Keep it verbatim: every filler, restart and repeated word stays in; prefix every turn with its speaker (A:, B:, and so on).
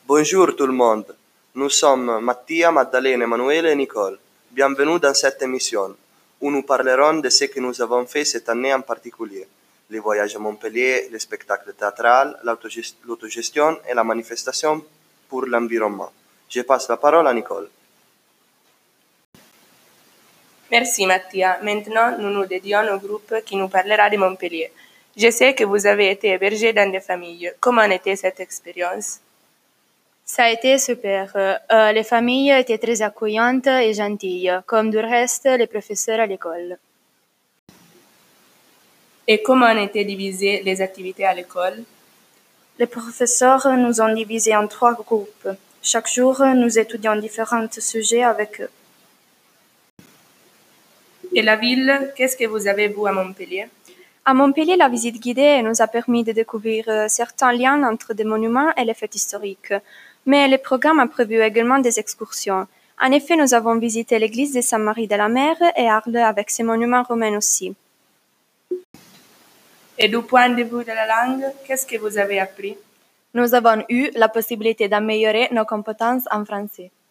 A: Bonjour tout le monde. Nous sommes Mattia, Maddalena, Emanuele et Nicole. Bienvenue dans cette émission où nous parlerons de ce que nous avons fait cette année en particulier. Les voyages à Montpellier, les spectacles théâtraux, l'autogest- l'autogestion et la manifestation pour l'environnement. Je passe la parole à Nicole.
B: Merci Mattia. Maintenant, nous nous dédions au groupe qui nous parlera de Montpellier. Je sais que vous avez été hébergés dans des familles. Comment était cette expérience?
C: Ça a été super. Euh, les familles étaient très accueillantes et gentilles, comme du reste les professeurs à l'école.
B: Et comment étaient divisées les activités à l'école?
C: Les professeurs nous ont divisés en trois groupes. Chaque jour, nous étudions différents sujets avec eux.
B: Et la ville, qu'est-ce que vous avez vu à Montpellier?
C: À Montpellier, la visite guidée nous a permis de découvrir euh, certains liens entre des monuments et les fêtes historiques. Mais le programme a prévu également des excursions. En effet, nous avons visité l'église de Sainte-Marie de la Mer et Arles avec ses monuments romains aussi.
B: Et du point de vue de la langue, qu'est-ce que vous avez appris?
C: Nous avons eu la possibilité d'améliorer nos compétences en français.